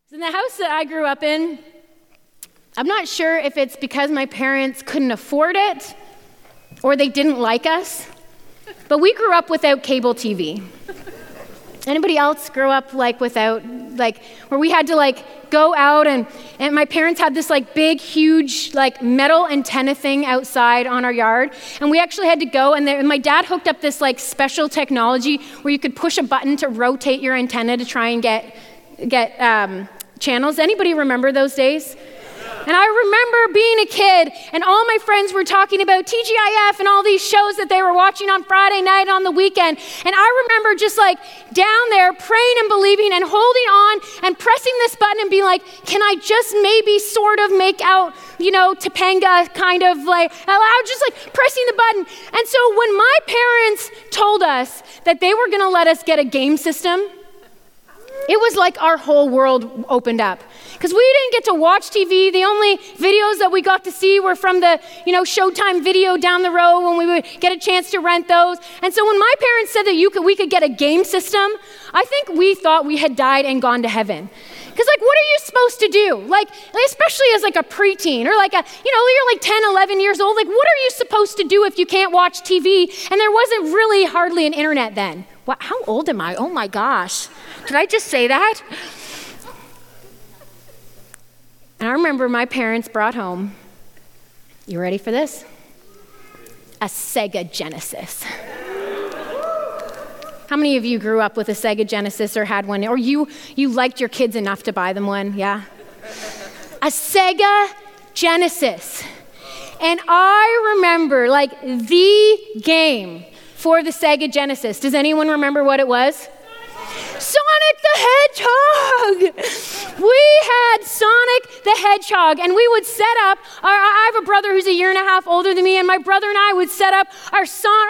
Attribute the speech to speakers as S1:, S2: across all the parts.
S1: In the house that I grew up in, I'm not sure if it's because my parents couldn't afford it or they didn't like us, but we grew up without cable TV. Anybody else grow up without, where we had to go out and my parents had this big, huge metal antenna thing outside on our yard, and we actually had to go and my dad hooked up this special technology where you could push a button to rotate your antenna to try and get channels. Anybody remember those days? And I remember being a kid and all my friends were talking about TGIF and all these shows that they were watching on Friday night and on the weekend. And I remember just down there praying and believing and holding on and pressing this button and being like, can I just maybe sort of make out, Topanga kind of I was just pressing the button. And so when my parents told us that they were going to let us get a game system, it was like our whole world opened up. Because we didn't get to watch TV. The only videos that we got to see were from the, Showtime video down the road when we would get a chance to rent those. And so when my parents said that we could get a game system, I think we thought we had died and gone to heaven. Because what are you supposed to do? Especially as a preteen or you're 10, 11 years old. What are you supposed to do if you can't watch TV? And there wasn't really hardly an internet then. How old am I? Oh my gosh. Did I just say that? And I remember my parents brought home, you ready for this? A Sega Genesis. How many of you grew up with a Sega Genesis or had one? Or you liked your kids enough to buy them one, yeah? A Sega Genesis. And I remember the game for the Sega Genesis. Does anyone remember what it was? Sonic the Hedgehog! We had Sonic the Hedgehog, and we would set up, I have a brother who's a year and a half older than me, and my brother and I would set up our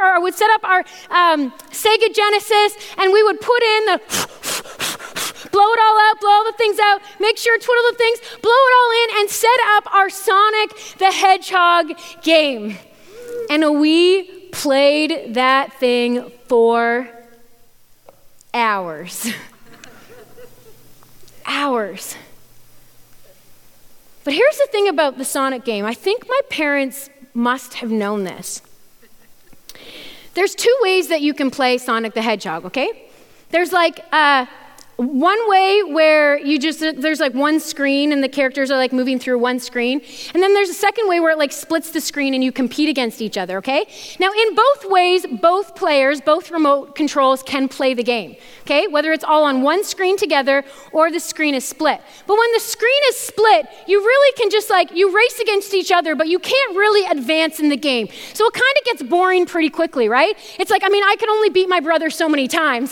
S1: Sega Genesis, and we would put in the blow it all out, blow all the things out, make sure twiddle the things, blow it all in, and set up our Sonic the Hedgehog game. And we played that thing for hours. Hours. But here's the thing about the Sonic game. I think my parents must have known this. There's two ways that you can play Sonic the Hedgehog, okay? There's one way where there's one screen and the characters are moving through one screen. And then there's a second way where it splits the screen and you compete against each other, okay? Now in both ways, both players, both remote controls can play the game, okay? Whether it's all on one screen together or the screen is split. But when the screen is split, you really can just you race against each other, but you can't really advance in the game. So it kind of gets boring pretty quickly, right? It's I can only beat my brother so many times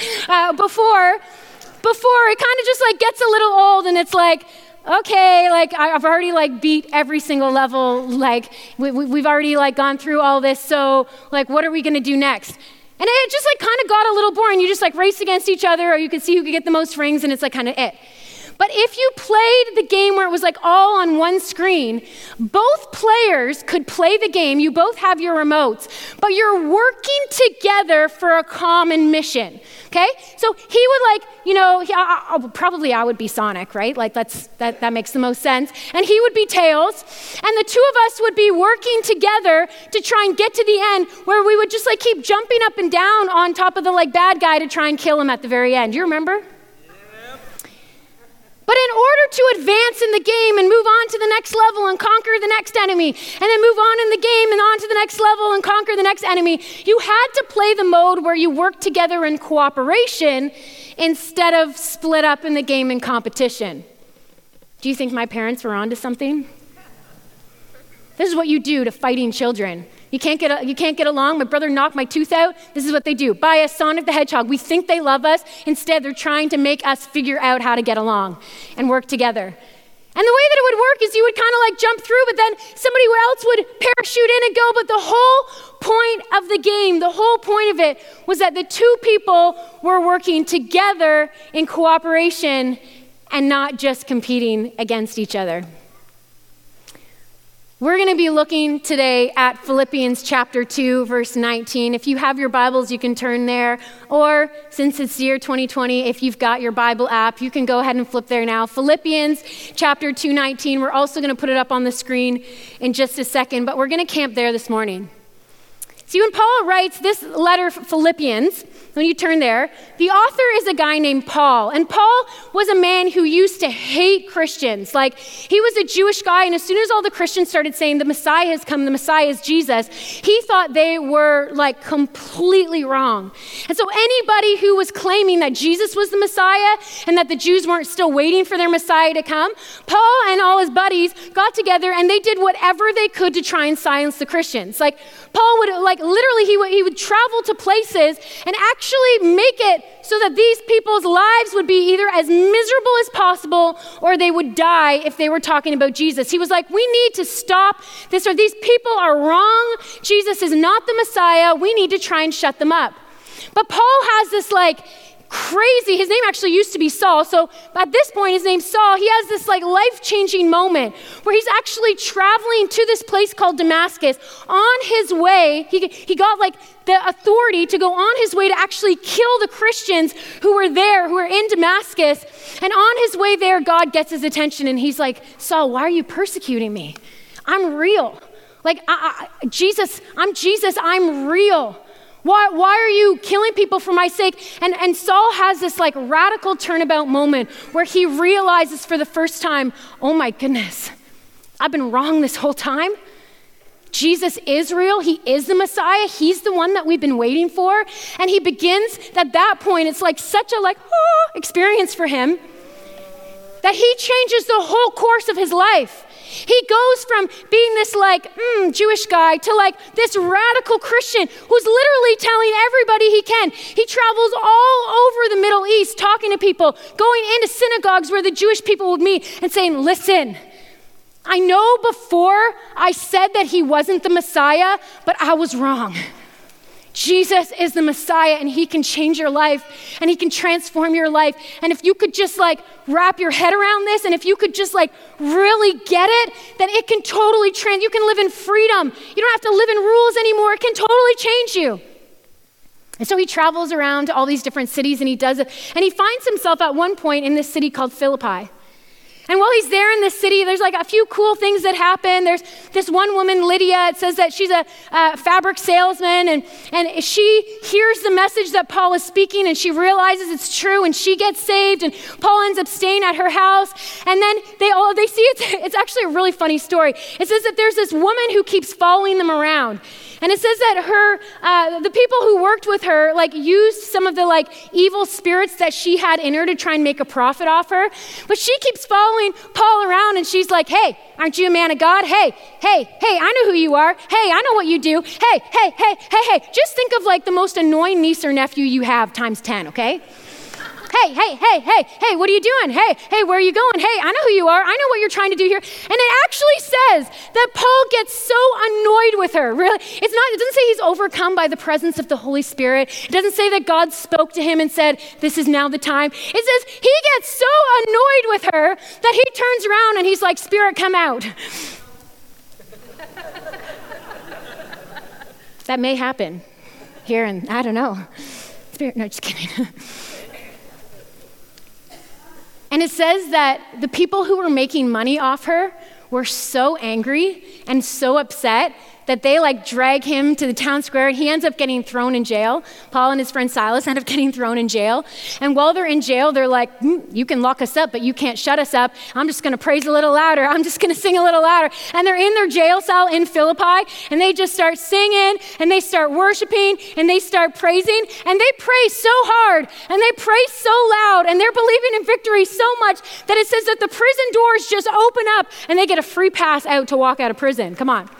S1: before it kind of just gets a little old and it's okay, I've already beat every single level, we've already gone through all this, so what are we gonna do next? And it just kind of got a little boring. You just race against each other, or you could see who could get the most rings, and it's kind of it. But if you played the game where it was all on one screen, both players could play the game, you both have your remotes, but you're working together for a common mission, okay? So he would probably I would be Sonic, right? That makes the most sense. And he would be Tails, and the two of us would be working together to try and get to the end where we would just keep jumping up and down on top of the bad guy to try and kill him at the very end. Do you remember? But in order to advance in the game and move on to the next level and conquer the next enemy, and then move on in the game and on to the next level and conquer the next enemy, you had to play the mode where you work together in cooperation instead of split up in the game in competition. Do you think my parents were onto something? This is what you do to fighting children. You can't get along. My brother knocked my tooth out. This is what they do. Buy us Sonic the Hedgehog. We think they love us. Instead, they're trying to make us figure out how to get along and work together. And the way that it would work is you would kind of jump through, but then somebody else would parachute in and go. But the whole point of the game, the whole point of it was that the two people were working together in cooperation and not just competing against each other. We're going to be looking today at Philippians chapter 2, verse 19. If you have your Bibles, you can turn there. Or since it's year 2020, if you've got your Bible app, you can go ahead and flip there now. Philippians chapter 2:19. We're also going to put it up on the screen in just a second, but we're going to camp there this morning. See, when Paul writes this letter, Philippians, when you turn there, the author is a guy named Paul. And Paul was a man who used to hate Christians. Like, he was a Jewish guy, and as soon as all the Christians started saying the Messiah has come, the Messiah is Jesus, he thought they were like completely wrong. And so anybody who was claiming that Jesus was the Messiah and that the Jews weren't still waiting for their Messiah to come, Paul and all his buddies got together and they did whatever they could to try and silence the Christians. Like, Paul would, literally, he would travel to places and actually make it so that these people's lives would be either as miserable as possible or they would die if they were talking about Jesus. He was like, we need to stop this, or these people are wrong. Jesus is not the Messiah. We need to try and shut them up. But Paul has this crazy, his name actually used to be Saul, so at this point his name's Saul. He has this life-changing moment where he's actually traveling to this place called Damascus. On his way, he got the authority to go on his way to actually kill the Christians who were there, who were in Damascus. And on his way there, God gets his attention and he's like, Saul, why are you persecuting me? I'm real. Jesus, I'm Jesus, I'm real. Why are you killing people for my sake? And Saul has this radical turnabout moment where he realizes for the first time, oh my goodness, I've been wrong this whole time. Jesus is real. He is the Messiah. He's the one that we've been waiting for. And he begins, at that point, it's such a experience for him that he changes the whole course of his life. He goes from being this Jewish guy to this radical Christian who's literally telling everybody he can. He travels all over the Middle East talking to people, going into synagogues where the Jewish people would meet and saying, listen, I know before I said that he wasn't the Messiah, but I was wrong. Jesus is the Messiah and he can change your life and he can transform your life. And if you could just wrap your head around this and if you could just really get it, then it can totally you can live in freedom. You don't have to live in rules anymore. It can totally change you. And so he travels around to all these different cities and he does it. And he finds himself at one point in this city called Philippi. And while he's there in this city, there's a few cool things that happen. There's this one woman, Lydia. It says that she's a fabric salesman, and she hears the message that Paul is speaking, and she realizes it's true, and she gets saved, and Paul ends up staying at her house. And then they see it's actually a really funny story. It says that there's this woman who keeps following them around. And it says that the people who worked with her used some of the evil spirits that she had in her to try and make a profit off her. But she keeps following Paul around and she's like, hey, aren't you a man of God? Hey, I know who you are. Hey, I know what you do. Hey. Just think of the most annoying niece or nephew you have times 10, okay? Hey, what are you doing? Hey, where are you going? Hey, I know who you are. I know what you're trying to do here. And it actually says that Paul gets so annoyed with her. Really, it doesn't say he's overcome by the presence of the Holy Spirit. It doesn't say that God spoke to him and said, this is now the time. It says he gets so annoyed with her that he turns around and he's like, Spirit, come out. That may happen here, and I don't know. Spirit, no, just kidding. And it says that the people who were making money off her were so angry and so upset that they drag him to the town square and he ends up getting thrown in jail. Paul and his friend Silas end up getting thrown in jail. And while they're in jail, they're like, you can lock us up, but you can't shut us up. I'm just gonna praise a little louder. I'm just gonna sing a little louder. And they're in their jail cell in Philippi and they just start singing and they start worshiping and they start praising and they pray so hard and they pray so loud and they're believing in victory so much that it says that the prison doors just open up and they get a free pass out to walk out of prison. Come on.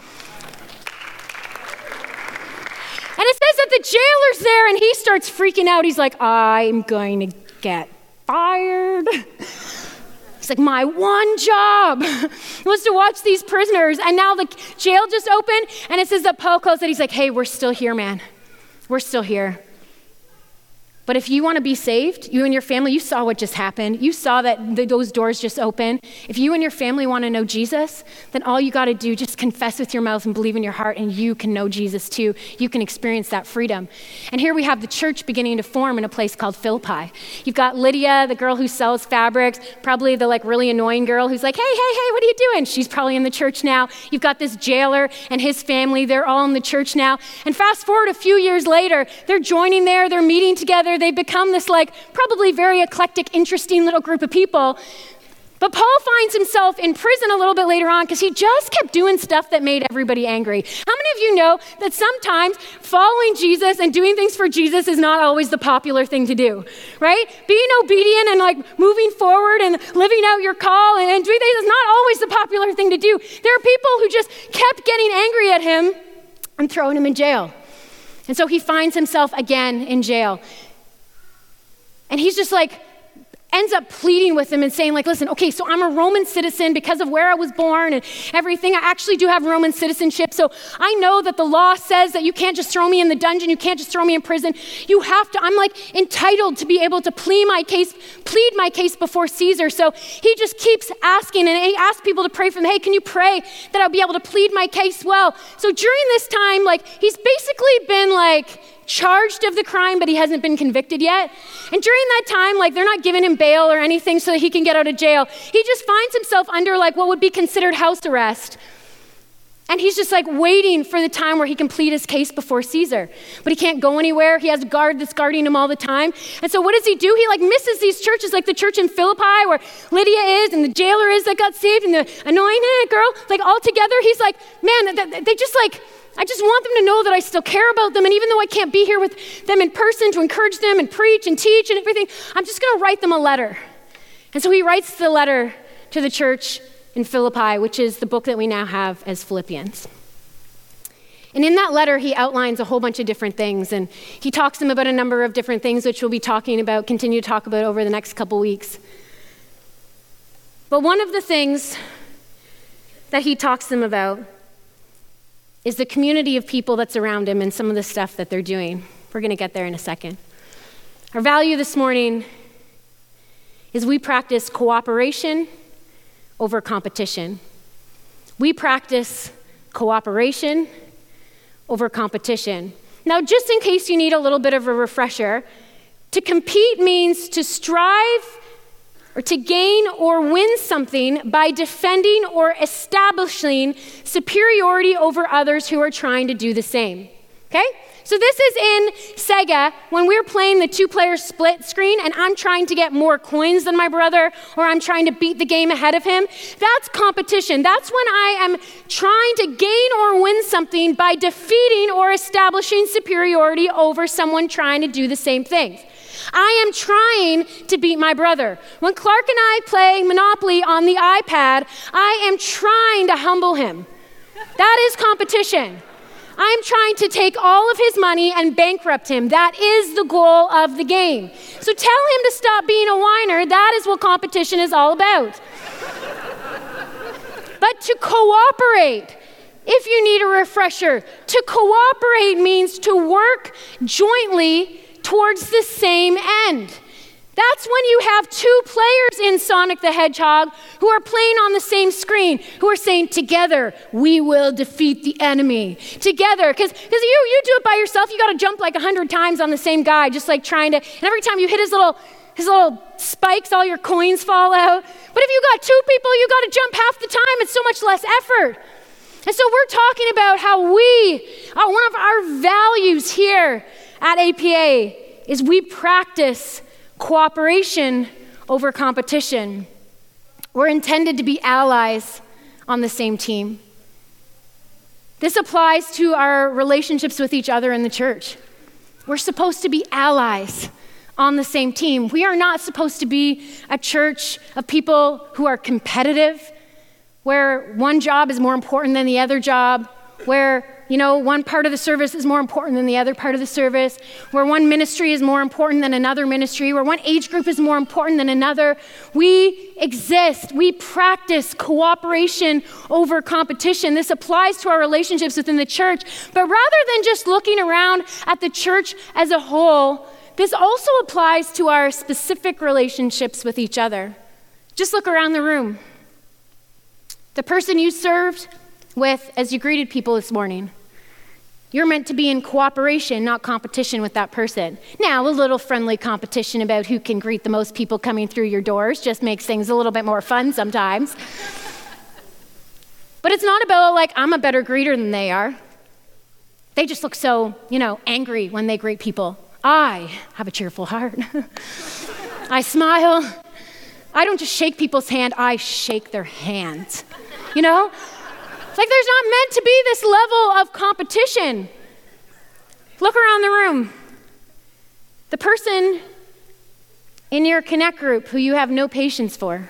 S1: And it says that the jailer's there and he starts freaking out. He's like, I'm going to get fired. He's like, my one job was to watch these prisoners. And now the jail just opened and it says that Paul calls it. He's like, hey, we're still here, man. We're still here. But if you want to be saved, you and your family, you saw what just happened. You saw that those doors just open. If you and your family want to know Jesus, then all you got to do, just confess with your mouth and believe in your heart, and you can know Jesus too. You can experience that freedom. And here we have the church beginning to form in a place called Philippi. You've got Lydia, the girl who sells fabrics, probably the really annoying girl who's like, hey, what are you doing? She's probably in the church now. You've got this jailer and his family. They're all in the church now. And fast forward a few years later, they're joining there. They're meeting together. They've become this probably very eclectic, interesting little group of people. But Paul finds himself in prison a little bit later on because he just kept doing stuff that made everybody angry. How many of you know that sometimes following Jesus and doing things for Jesus is not always the popular thing to do, right? Being obedient and moving forward and living out your call and doing things is not always the popular thing to do. There are people who just kept getting angry at him and throwing him in jail. And so he finds himself again in jail. And he's just ends up pleading with them and saying listen, okay, so I'm a Roman citizen because of where I was born and everything. I actually do have Roman citizenship. So I know that the law says that you can't just throw me in the dungeon. You can't just throw me in prison. You have to, I'm entitled to be able to plead my case before Caesar. So he just keeps asking, and he asks people to pray for him. Hey, can you pray that I'll be able to plead my case well? So during this time, he's basically been charged of the crime, but he hasn't been convicted yet. And during that time, they're not giving him bail or anything so that he can get out of jail. He just finds himself under what would be considered house arrest. And he's just waiting for the time where he can plead his case before Caesar. But he can't go anywhere. He has a guard that's guarding him all the time. And so what does he do? He misses these churches, the church in Philippi where Lydia is and the jailer is that got saved and the annoying girl. All together, he's man, they just I just want them to know that I still care about them. And even though I can't be here with them in person to encourage them and preach and teach and everything, I'm just going to write them a letter. And so he writes the letter to the church in Philippi, which is the book that we now have as Philippians. And in that letter, he outlines a whole bunch of different things. And he talks to them about a number of different things, which we'll be continue to talk about over the next couple weeks. But one of the things that he talks to them about is the community of people that's around him and some of the stuff that they're doing. We're going to get there in a second. Our value this morning is we practice cooperation over competition. We practice cooperation over competition. Now, just in case you need a little bit of a refresher, to compete means to strive or to gain or win something by defending or establishing superiority over others who are trying to do the same. Okay? So this is in Sega when we're playing the 2-player split screen and I'm trying to get more coins than my brother or I'm trying to beat the game ahead of him. That's competition. That's when I am trying to gain or win something by defeating or establishing superiority over someone trying to do the same things. I am trying to beat my brother. When Clark and I play Monopoly on the iPad, I am trying to humble him. That is competition. I'm trying to take all of his money and bankrupt him. That is the goal of the game. So tell him to stop being a whiner. That is what competition is all about. But to cooperate, if you need a refresher, to cooperate means to work jointly towards the same end. That's when you have 2 players in Sonic the Hedgehog who are playing on the same screen, who are saying, together, we will defeat the enemy. Together, because you do it by yourself, you got to jump 100 times on the same guy, just trying to, and every time you hit his little spikes, all your coins fall out. But if you got 2 people, you got to jump half the time. It's so much less effort. And so we're talking about how one of our values here at APA is we practice cooperation over competition. We're intended to be allies on the same team. This applies to our relationships with each other in the church. We're supposed to be allies on the same team. We are not supposed to be a church of people who are competitive, where one job is more important than the other job, where one part of the service is more important than the other part of the service, where one ministry is more important than another ministry, where one age group is more important than another. We exist. We practice cooperation over competition. This applies to our relationships within the church. But rather than just looking around at the church as a whole, this also applies to our specific relationships with each other. Just look around the room. The person you served with as you greeted people this morning, you're meant to be in cooperation, not competition with that person. Now, a little friendly competition about who can greet the most people coming through your doors just makes things a little bit more fun sometimes. But it's not about like, I'm a better greeter than they are. They just look so, angry when they greet people. I have a cheerful heart. I smile. I don't just shake people's hand, I shake their hand. Like there's not meant to be this level of competition. Look around the room. The person in your Connect group who you have no patience for.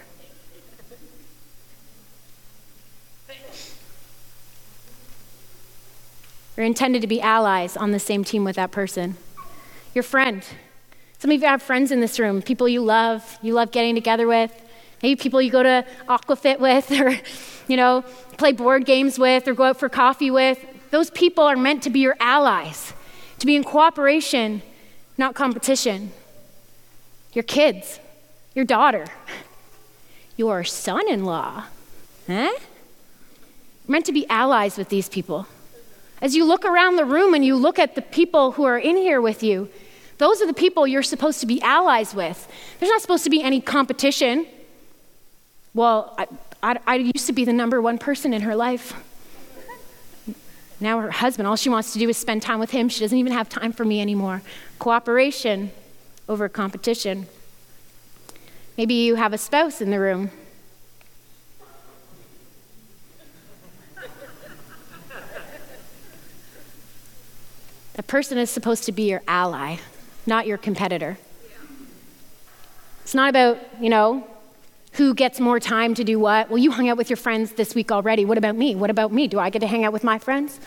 S1: You're intended to be allies on the same team with that person. Your friend. Some of you have friends in this room, people you love getting together with, maybe people you go to Aquafit with or, play board games with or go out for coffee with. Those people are meant to be your allies, to be in cooperation, not competition. Your kids, your daughter, your son-in-law, You're meant to be allies with these people. As you look around the room and you look at the people who are in here with you, those are the people you're supposed to be allies with. There's not supposed to be any competition. Well, I used to be the number one person in her life. Now her husband, all she wants to do is spend time with him. She doesn't even have time for me anymore. Cooperation over competition. Maybe you have a spouse in the room. A person is supposed to be your ally, not your competitor. It's not about, who gets more time to do what. Well, you hung out with your friends this week already. What about me? What about me? Do I get to hang out with my friends?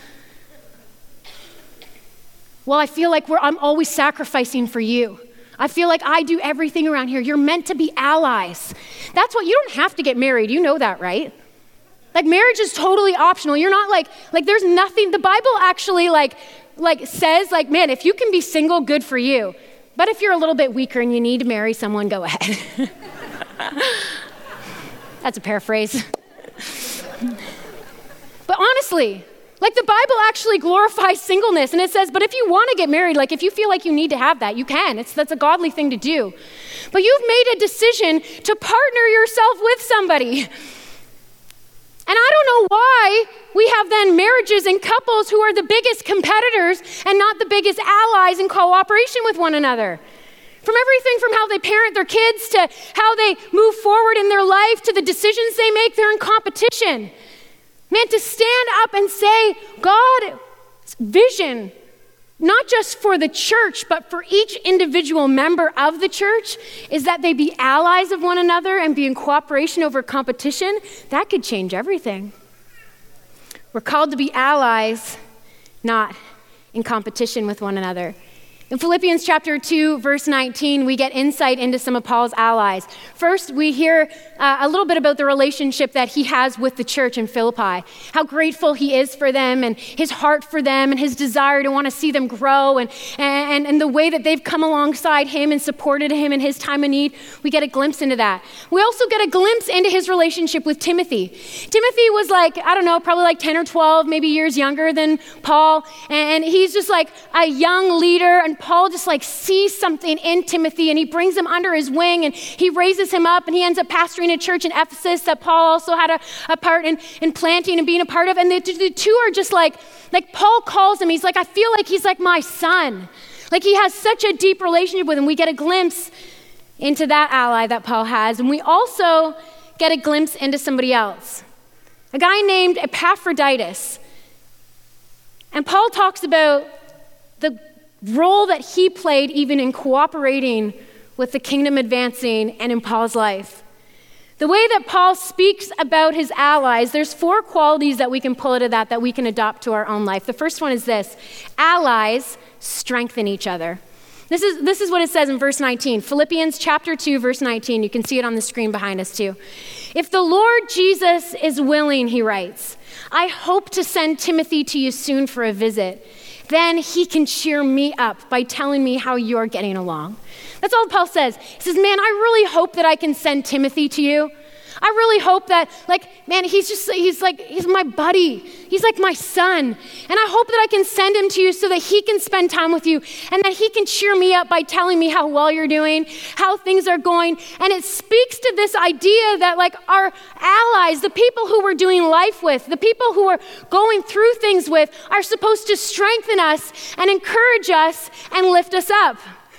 S1: Well, I feel like I'm always sacrificing for you. I feel like I do everything around here. You're meant to be allies. That's what, you don't have to get married. You know that, right? Like marriage is totally optional. You're not like there's nothing, the Bible actually says man, if you can be single, good for you. But if you're a little bit weaker and you need to marry someone, go ahead. That's a paraphrase. But honestly, the Bible actually glorifies singleness, and it says, but if you want to get married, if you feel like you need to have that, you can. That's a godly thing to do. But you've made a decision to partner yourself with somebody. And I don't know why we have then marriages and couples who are the biggest competitors and not the biggest allies in cooperation with one another. From everything from how they parent their kids to how they move forward in their life to the decisions they make, they're in competition. Man, to stand up and say God's vision, not just for the church, but for each individual member of the church, is that they be allies of one another and be in cooperation over competition, that could change everything. We're called to be allies, not in competition with one another. In Philippians chapter 2, verse 19, we get insight into some of Paul's allies. First, we hear a little bit about the relationship that he has with the church in Philippi, how grateful he is for them and his heart for them and his desire to want to see them grow and the way that they've come alongside him and supported him in his time of need. We get a glimpse into that. We also get a glimpse into his relationship with Timothy. Timothy was probably 10 or 12, maybe years younger than Paul, and he's just a young leader, and Paul just sees something in Timothy and he brings him under his wing and he raises him up and he ends up pastoring a church in Ephesus that Paul also had a part in planting and being a part of. And the two are just like Paul calls him, he's I feel like he's like my son. He has such a deep relationship with him. We get a glimpse into that ally that Paul has. And we also get a glimpse into somebody else, a guy named Epaphroditus. And Paul talks about the role that he played even in cooperating with the kingdom advancing and in Paul's life. The way that Paul speaks about his allies, there's 4 qualities that we can pull out of that we can adopt to our own life. The first one is this: allies strengthen each other. This is what it says in verse 19. Philippians chapter 2, verse 19. You can see it on the screen behind us too. If the Lord Jesus is willing, he writes, I hope to send Timothy to you soon for a visit. then he can cheer me up by telling me how you're getting along. That's all Paul says. He says, man, I really hope that I can send Timothy to you. I really hope that, he's my buddy. He's like my son. And I hope that I can send him to you so that he can spend time with you and that he can cheer me up by telling me how well you're doing, how things are going. And it speaks to this idea that our allies, the people who we're doing life with, the people who we're going through things with are supposed to strengthen us and encourage us and lift us up.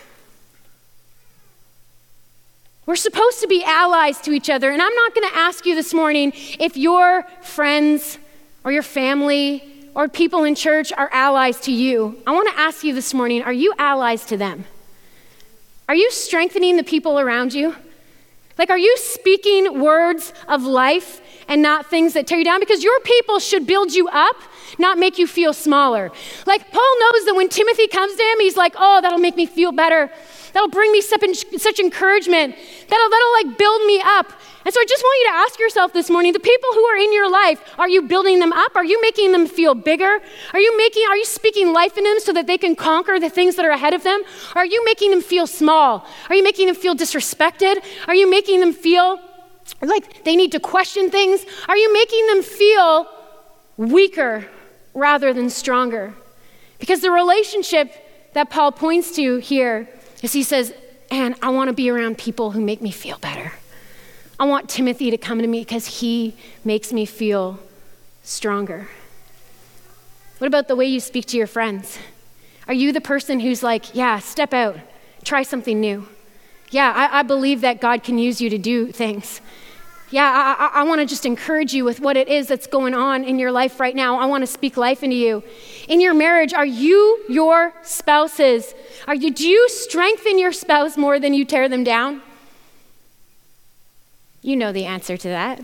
S1: We're supposed to be allies to each other. And I'm not going to ask you this morning if your friends or your family or people in church are allies to you. I want to ask you this morning, are you allies to them? Are you strengthening the people around you? Are you speaking words of life and not things that tear you down? Because your people should build you up, not make you feel smaller. Paul knows that when Timothy comes to him, he's like, oh, that'll make me feel better. That'll bring me such encouragement. That'll build me up. And so I just want you to ask yourself this morning, the people who are in your life, are you building them up? Are you making them feel bigger? Are you speaking life in them so that they can conquer the things that are ahead of them? Or are you making them feel small? Are you making them feel disrespected? Are you making them feel like they need to question things? Are you making them feel weaker rather than stronger? Because the relationship that Paul points to here is he says, and I want to be around people who make me feel better. I want Timothy to come to me because he makes me feel stronger. What about the way you speak to your friends? Are you the person who's like, yeah, step out, try something new? Yeah, I believe that God can use you to do things. Yeah, I want to just encourage you with what it is that's going on in your life right now. I want to speak life into you. In your marriage, are you your spouses? Do you strengthen your spouse more than you tear them down? You know the answer to that.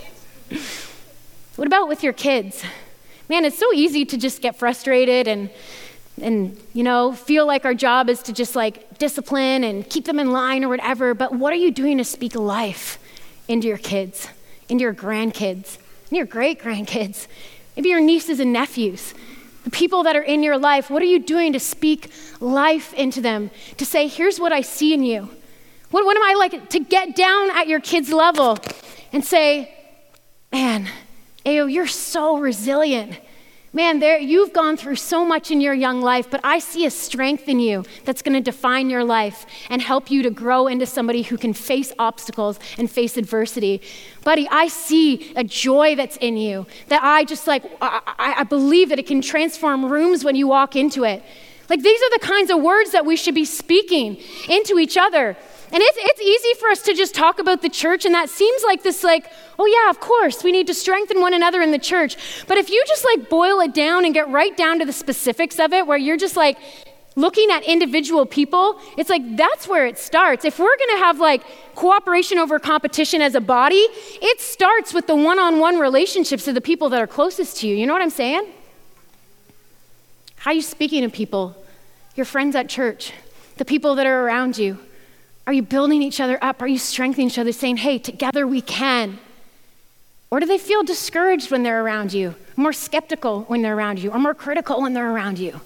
S1: What about with your kids? Man, it's so easy to just get frustrated and feel like our job is to just discipline and keep them in line or whatever. But what are you doing to speak life into your kids, into your grandkids, into your great-grandkids, maybe your nieces and nephews, the people that are in your life? What are you doing to speak life into them, to say, here's what I see in you? What am I like to get down at your kids' level and say, man, Ayo, you're so resilient. Man, you've gone through so much in your young life, but I see a strength in you that's going to define your life and help you to grow into somebody who can face obstacles and face adversity. Buddy, I see a joy that's in you that I believe that it can transform rooms when you walk into it. These are the kinds of words that we should be speaking into each other. And it's easy for us to just talk about the church, and that seems like this, oh yeah, of course, we need to strengthen one another in the church. But if you just boil it down and get right down to the specifics of it, where you're just looking at individual people, it's that's where it starts. If we're gonna have cooperation over competition as a body, it starts with the one-on-one relationships of the people that are closest to you. You know what I'm saying? How are you speaking to people? Your friends at church, the people that are around you. Are you building each other up? Are you strengthening each other, saying, hey, together we can? Or do they feel discouraged when they're around you, more skeptical when they're around you, or more critical when they're around you?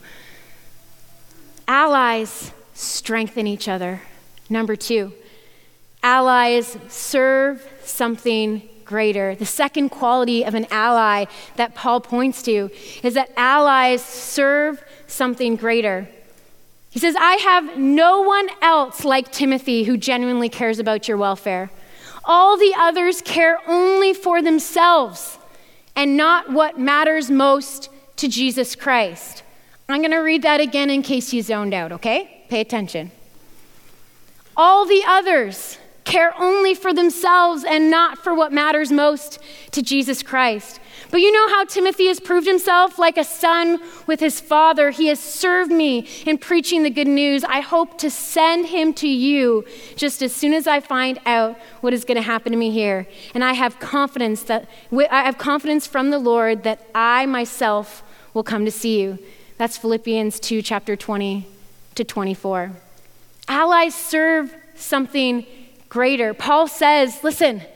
S1: Allies strengthen each other. Number 2, allies serve something greater. The second quality of an ally that Paul points to is that allies serve something greater. He says, I have no one else like Timothy who genuinely cares about your welfare. All the others care only for themselves and not what matters most to Jesus Christ. I'm going to read that again in case you zoned out, okay? Pay attention. All the others care only for themselves and not for what matters most to Jesus Christ. But you know how Timothy has proved himself like a son with his father. He has served me in preaching the good news. I hope to send him to you just as soon as I find out what is going to happen to me here. And I have confidence from the Lord that I myself will come to see you. That's Philippians 2, chapter 20 to 24. Allies serve something greater. Paul says, listen,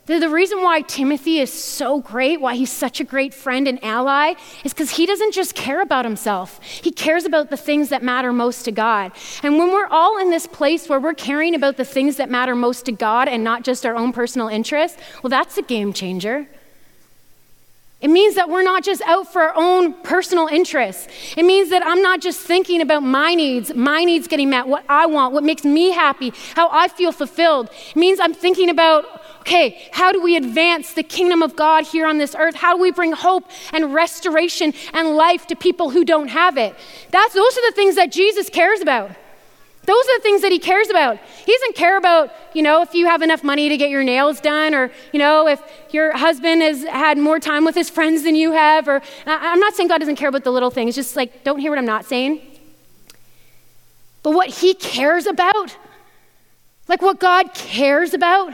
S1: The reason why Timothy is so great, why he's such a great friend and ally, is because he doesn't just care about himself. He cares about the things that matter most to God. And when we're all in this place where we're caring about the things that matter most to God and not just our own personal interests, well, that's a game changer. It means that we're not just out for our own personal interests. It means that I'm not just thinking about my needs getting met, what I want, what makes me happy, how I feel fulfilled. It means I'm thinking about, okay, how do we advance the kingdom of God here on this earth? How do we bring hope and restoration and life to people who don't have it? Those are the things that Jesus cares about. Those are the things that he cares about. He doesn't care about, if you have enough money to get your nails done, or, if your husband has had more time with his friends than you have, or I'm not saying God doesn't care about the little things, just like, don't hear what I'm not saying. But what he cares about, like what God cares about,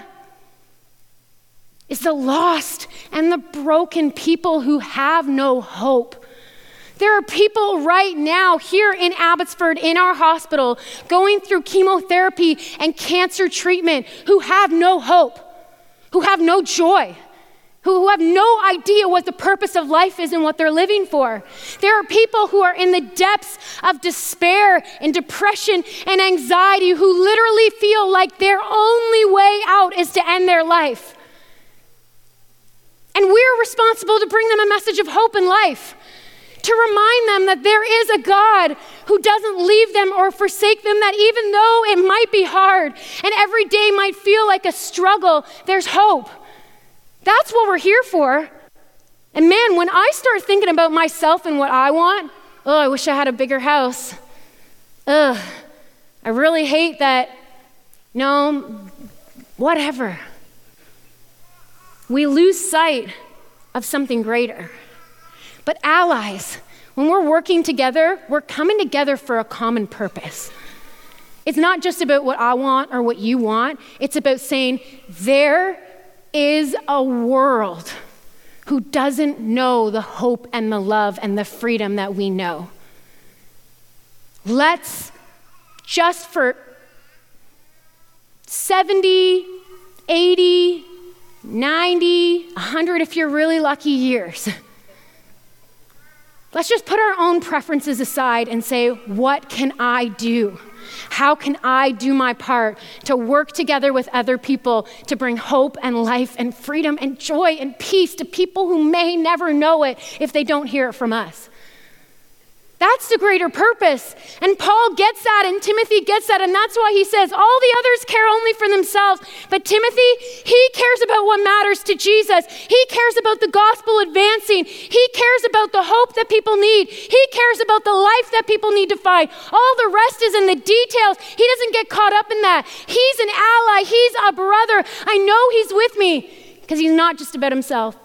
S1: is the lost and the broken people who have no hope. There are people right now here in Abbotsford in our hospital going through chemotherapy and cancer treatment who have no hope, who have no joy, who have no idea what the purpose of life is and what they're living for. There are people who are in the depths of despair and depression and anxiety who literally feel like their only way out is to end their life. And we're responsible to bring them a message of hope and life, to remind them that there is a God who doesn't leave them or forsake them, that even though it might be hard and every day might feel like a struggle, there's hope. That's what we're here for. And man, when I start thinking about myself and what I want, I wish I had a bigger house. I really hate that, whatever. We lose sight of something greater. But allies, when we're working together, we're coming together for a common purpose. It's not just about what I want or what you want. It's about saying there is a world who doesn't know the hope and the love and the freedom that we know. Let's just for 70, 80, 90, 100 if you're really lucky years, let's just put our own preferences aside and say, what can I do? How can I do my part to work together with other people to bring hope and life and freedom and joy and peace to people who may never know it if they don't hear it from us? That's the greater purpose. And Paul gets that and Timothy gets that, and that's why he says all the others care only for themselves. But Timothy, he cares about what matters to Jesus. He cares about the gospel advancing. He cares about the hope that people need. He cares about the life that people need to find. All the rest is in the details. He doesn't get caught up in that. He's an ally. He's a brother. I know he's with me because he's not just about himself.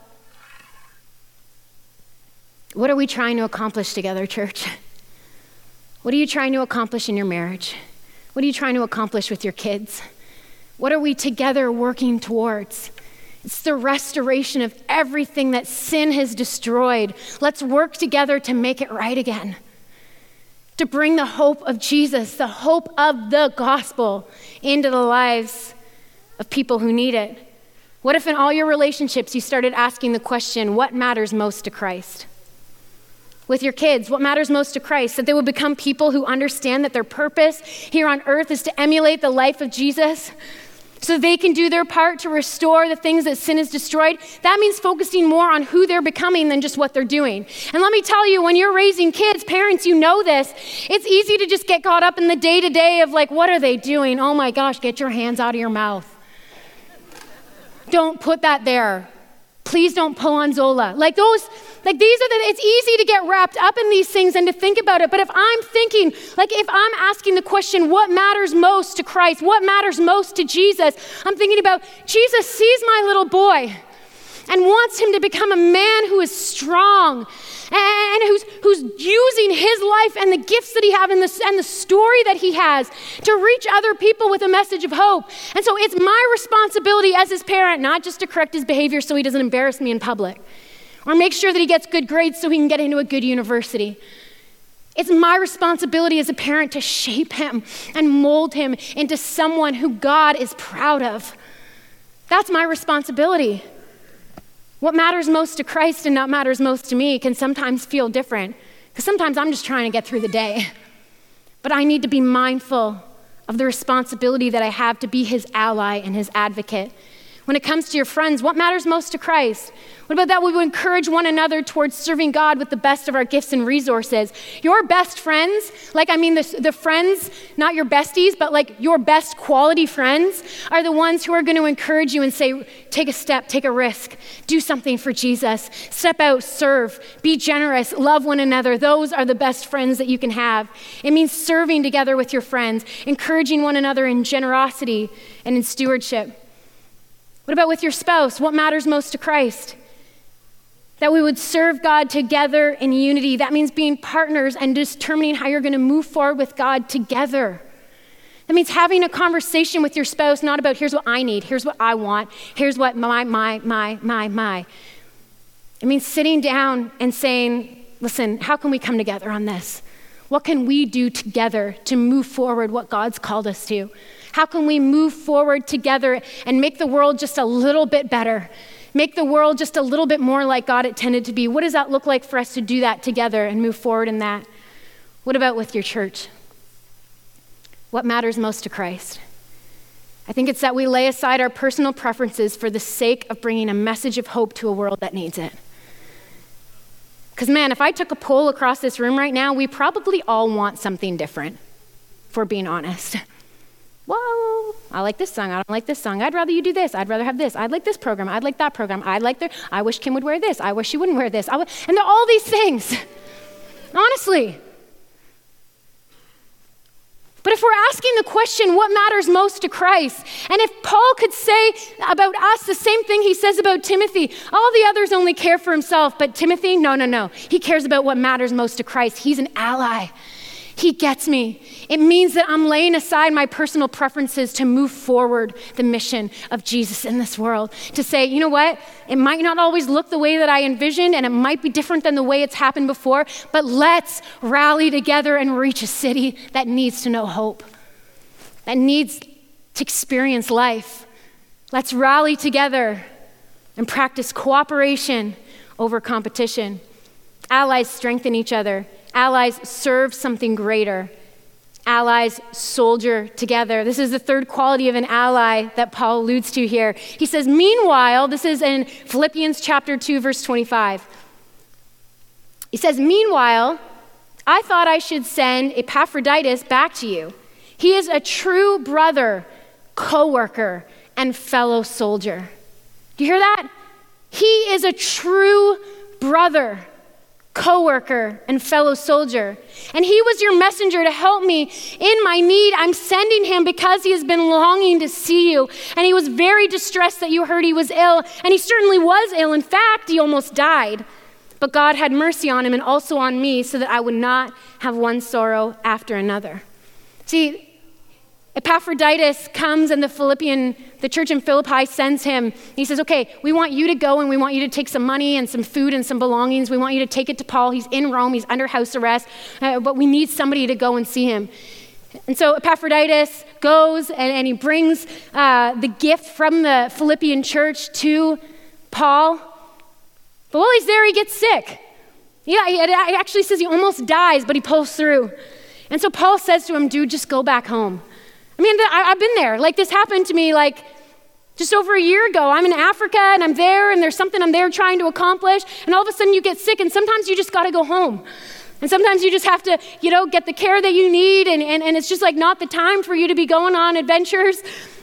S1: What are we trying to accomplish together, church? What are you trying to accomplish in your marriage? What are you trying to accomplish with your kids? What are we together working towards? It's the restoration of everything that sin has destroyed. Let's work together to make it right again. To bring the hope of Jesus, the hope of the gospel into the lives of people who need it. What if in all your relationships you started asking the question, what matters most to Christ? With your kids, what matters most to Christ? That they will become people who understand that their purpose here on earth is to emulate the life of Jesus so they can do their part to restore the things that sin has destroyed. That means focusing more on who they're becoming than just what they're doing. And let me tell you, when you're raising kids, parents, you know this, it's easy to just get caught up in the day-to-day of like, what are they doing? Oh my gosh, get your hands out of your mouth. Don't put that there. Please don't pull on Zola. It's easy to get wrapped up in these things and to think about it. But if I'm thinking, if I'm asking the question, what matters most to Christ? What matters most to Jesus? I'm thinking about Jesus sees my little boy and wants him to become a man who is strong and who's using his life and the gifts that he has and the story that he has to reach other people with a message of hope. And so it's my responsibility as his parent not just to correct his behavior so he doesn't embarrass me in public or make sure that he gets good grades so he can get into a good university. It's my responsibility as a parent to shape him and mold him into someone who God is proud of. That's my responsibility. What matters most to Christ and not matters most to me can sometimes feel different, because sometimes I'm just trying to get through the day. But I need to be mindful of the responsibility that I have to be his ally and his advocate. When it comes to your friends, what matters most to Christ? What about that we would encourage one another towards serving God with the best of our gifts and resources? Your best friends, the friends, not your besties, but like your best quality friends are the ones who are going to encourage you and say, take a step, take a risk, do something for Jesus, step out, serve, be generous, love one another. Those are the best friends that you can have. It means serving together with your friends, encouraging one another in generosity and in stewardship. What about with your spouse? What matters most to Christ? That we would serve God together in unity. That means being partners and determining how you're going to move forward with God together. That means having a conversation with your spouse, not about here's what I need, here's what I want, here's what my. It means sitting down and saying, listen, how can we come together on this? What can we do together to move forward what God's called us to? How can we move forward together and make the world just a little bit better? Make the world just a little bit more like God intended to be? What does that look like for us to do that together and move forward in that? What about with your church? What matters most to Christ? I think it's that we lay aside our personal preferences for the sake of bringing a message of hope to a world that needs it. Because man, if I took a poll across this room right now, we probably all want something different, if we're being honest. Whoa, I like this song, I don't like this song. I'd rather you do this, I'd rather have this. I'd like this program, I'd like that program. I wish Kim would wear this, I wish she wouldn't wear this. And there are all these things, honestly. But if we're asking the question, what matters most to Christ? And if Paul could say about us the same thing he says about Timothy, all the others only care for himself, but Timothy, no. He cares about what matters most to Christ. He's an ally. He gets me. It means that I'm laying aside my personal preferences to move forward the mission of Jesus in this world. To say, you know what? It might not always look the way that I envisioned, and it might be different than the way it's happened before, but let's rally together and reach a city that needs to know hope, that needs to experience life. Let's rally together and practice cooperation over competition. Allies strengthen each other. Allies serve something greater. Allies soldier together. This is the third quality of an ally that Paul alludes to here. He says, meanwhile, this is in Philippians chapter 2, verse 25. He says, meanwhile, I thought I should send Epaphroditus back to you. He is a true brother, co-worker, and fellow soldier. Do you hear that? He is a true brother, co-worker, and fellow soldier. And he was your messenger to help me in my need. I'm sending him because he has been longing to see you. And he was very distressed that you heard he was ill. And he certainly was ill. In fact, he almost died. But God had mercy on him and also on me so that I would not have one sorrow after another. See, Epaphroditus comes and the church in Philippi sends him. He says, okay, we want you to go and we want you to take some money and some food and some belongings. We want you to take it to Paul. He's in Rome. He's under house arrest, but we need somebody to go and see him. And so Epaphroditus goes and he brings the gift from the Philippian church to Paul. But while he's there, he gets sick. Yeah, it actually says he almost dies, but he pulls through. And so Paul says to him, dude, just go back home. I mean, I've been there. Like, this happened to me like just over a year ago. I'm in Africa and I'm there and there's something I'm there trying to accomplish. And all of a sudden you get sick and sometimes you just got to go home. And sometimes you just have to, get the care that you need. And it's just like not the time for you to be going on adventures.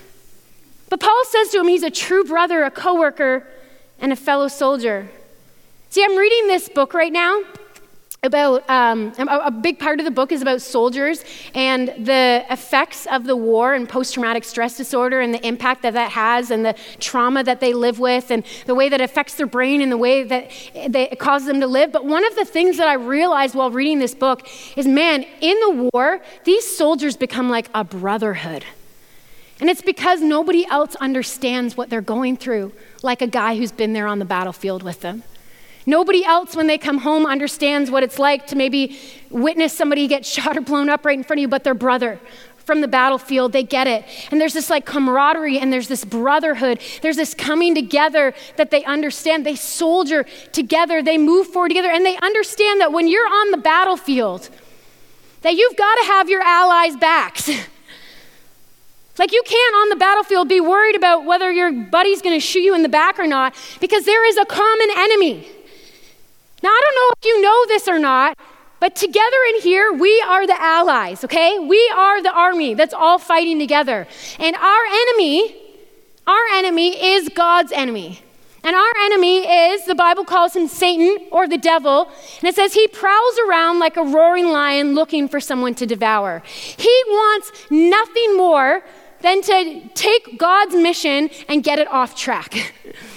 S1: But Paul says to him, he's a true brother, a coworker, and a fellow soldier. See, I'm reading this book right now about, a big part of the book is about soldiers and the effects of the war and post-traumatic stress disorder and the impact that has and the trauma that they live with and the way that affects their brain and the way that it causes them to live. But one of the things that I realized while reading this book is, man, in the war, these soldiers become like a brotherhood. And it's because nobody else understands what they're going through like a guy who's been there on the battlefield with them. Nobody else, when they come home, understands what it's like to maybe witness somebody get shot or blown up right in front of you, but their brother from the battlefield, they get it. And there's this like camaraderie and there's this brotherhood. There's this coming together that they understand. They soldier together, they move forward together, and they understand that when you're on the battlefield, that you've got to have your allies' backs. Like you can't on the battlefield be worried about whether your buddy's going to shoot you in the back or not, because there is a common enemy. Now, I don't know if you know this or not, but together in here, we are the allies, okay? We are the army that's all fighting together. And our enemy is God's enemy. And our enemy is, the Bible calls him Satan or the devil. And it says he prowls around like a roaring lion looking for someone to devour. He wants nothing more than to take God's mission and get it off track.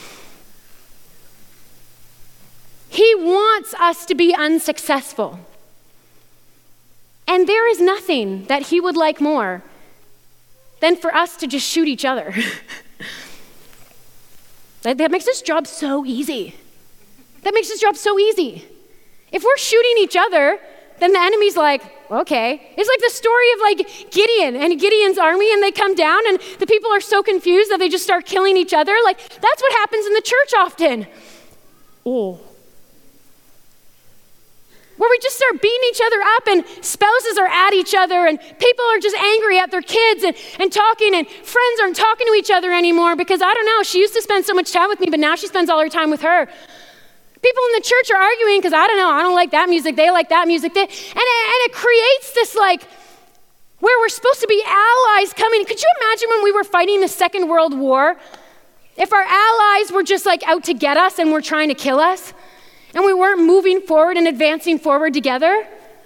S1: He wants us to be unsuccessful. And there is nothing that he would like more than for us to just shoot each other. That makes this job so easy. That makes this job so easy. If we're shooting each other, then the enemy's like, okay. It's like the story of like Gideon and Gideon's army, and they come down and the people are so confused that they just start killing each other. Like that's what happens in the church often. Oh. Where we just start beating each other up and spouses are at each other and people are just angry at their kids and talking, and friends aren't talking to each other anymore because, I don't know, she used to spend so much time with me, but now she spends all her time with her. People in the church are arguing because, I don't know, I don't like that music, they like that music. And it creates this like, where we're supposed to be allies coming. Could you imagine when we were fighting the Second World War? If our allies were just like out to get us and were trying to kill us? And we weren't moving forward and advancing forward together?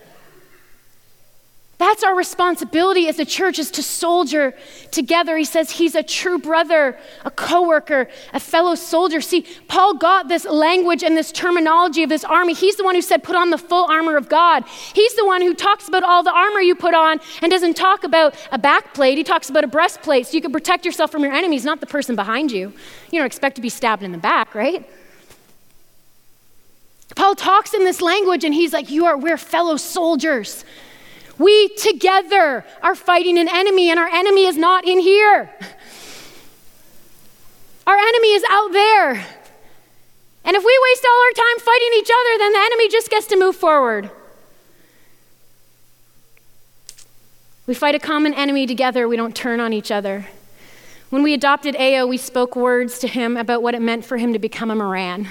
S1: That's our responsibility as a church, is to soldier together. He says he's a true brother, a coworker, a fellow soldier. See, Paul got this language and this terminology of this army. He's the one who said, put on the full armor of God. He's the one who talks about all the armor you put on and doesn't talk about a backplate. He talks about a breastplate so you can protect yourself from your enemies, not the person behind you. You don't expect to be stabbed in the back, right? Paul talks in this language and he's like, we're fellow soldiers. We together are fighting an enemy, and our enemy is not in here. Our enemy is out there. And if we waste all our time fighting each other, then the enemy just gets to move forward. We fight a common enemy together. We don't turn on each other. When we adopted Ao, we spoke words to him about what it meant for him to become a Moran.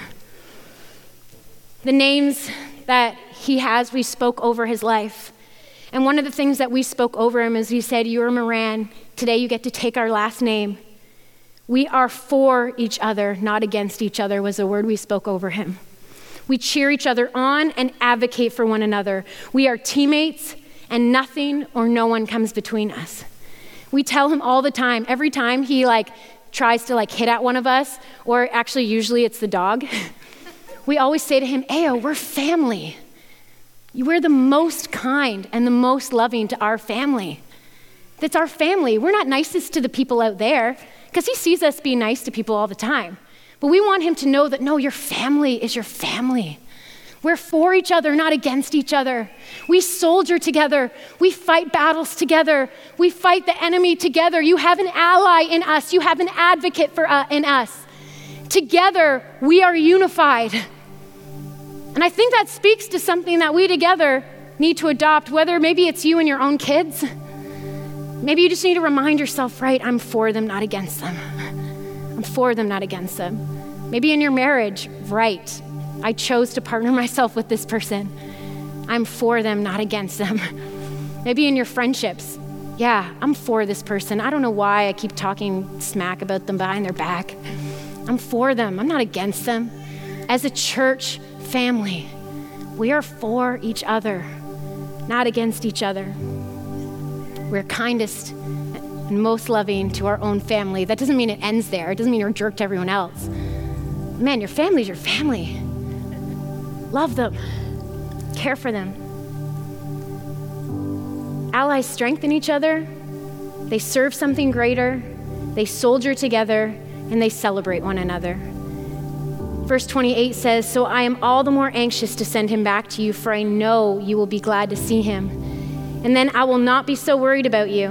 S1: The names that he has, we spoke over his life. And one of the things that we spoke over him is we said, you're a Moran. Today you get to take our last name. We are for each other, not against each other, was the word we spoke over him. We cheer each other on and advocate for one another. We are teammates, and nothing or no one comes between us. We tell him all the time, every time he tries to hit at one of us, or actually usually it's the dog, we always say to him, Ao, we're family. We're the most kind and the most loving to our family. That's our family. We're not nicest to the people out there, because he sees us being nice to people all the time. But we want him to know that, no, your family is your family. We're for each other, not against each other. We soldier together. We fight battles together. We fight the enemy together. You have an ally in us. You have an advocate in us. Together, we are unified. And I think that speaks to something that we together need to adopt, whether maybe it's you and your own kids. Maybe you just need to remind yourself, right, I'm for them, not against them. I'm for them, not against them. Maybe in your marriage, right, I chose to partner myself with this person. I'm for them, not against them. Maybe in your friendships, yeah, I'm for this person. I don't know why I keep talking smack about them behind their back. I'm for them. I'm not against them. As a church family, we are for each other, not against each other. We're kindest and most loving to our own family. That doesn't mean it ends there. It doesn't mean you're a jerk to everyone else. Man, your family's your family. Love them. Care for them. Allies strengthen each other. They serve something greater. They soldier together. And they celebrate one another. Verse 28 says, so I am all the more anxious to send him back to you, for I know you will be glad to see him. and then I will not be so worried about you.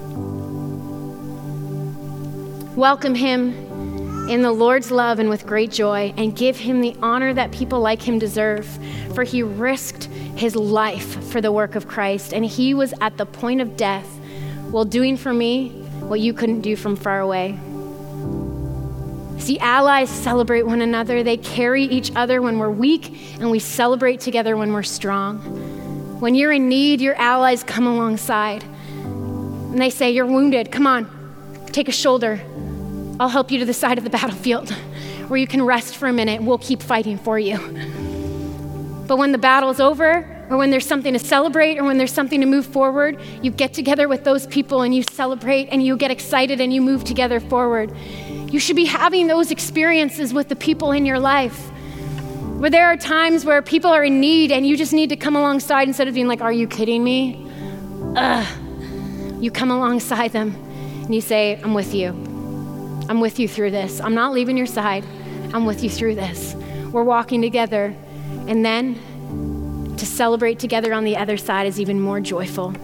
S1: Welcome him in the Lord's love and with great joy, and give him the honor that people like him deserve, for he risked his life for the work of Christ, and he was at the point of death while doing for me what you couldn't do from far away. See, allies celebrate one another. They carry each other when we're weak, and we celebrate together when we're strong. When you're in need, your allies come alongside, and they say, you're wounded, come on, take a shoulder. I'll help you to the side of the battlefield where you can rest for a minute. We'll keep fighting for you. But when the battle's over, or when there's something to celebrate, or when there's something to move forward, you get together with those people and you celebrate and you get excited and you move together forward. You should be having those experiences with the people in your life, where there are times where people are in need and you just need to come alongside instead of being like, are you kidding me? You come alongside them and you say, I'm with you. I'm with you through this. I'm not leaving your side. I'm with you through this. We're walking together. And then to celebrate together on the other side is even more joyful.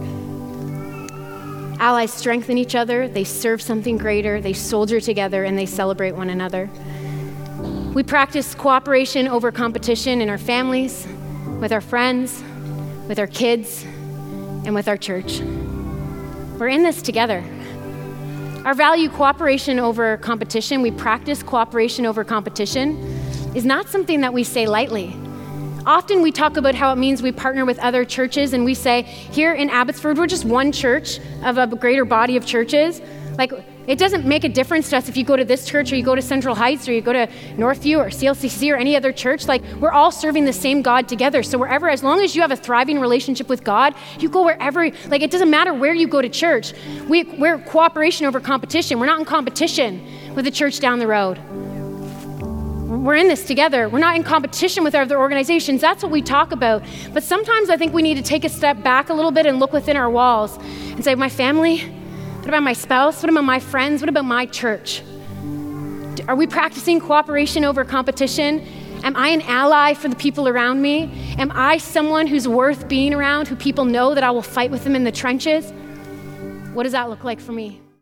S1: Allies strengthen each other. They serve something greater. They soldier together and they celebrate one another. We practice cooperation over competition in our families, with our friends, with our kids, and with our church. We're in this together. Our value cooperation over competition, we practice cooperation over competition, is not something that we say lightly. Often we talk about how it means we partner with other churches, and we say, here in Abbotsford, we're just one church of a greater body of churches. Like, it doesn't make a difference to us if you go to this church or you go to Central Heights or you go to Northview or CLCC or any other church. Like, we're all serving the same God together. So wherever, as long as you have a thriving relationship with God, you go wherever. Like, it doesn't matter where you go to church. We're cooperation over competition. We're not in competition with the church down the road. We're in this together. We're not in competition with other organizations. That's what we talk about. But sometimes I think we need to take a step back a little bit and look within our walls and say, my family, what about my spouse? What about my friends? What about my church? Are we practicing cooperation over competition? Am I an ally for the people around me? Am I someone who's worth being around, who people know that I will fight with them in the trenches? What does that look like for me?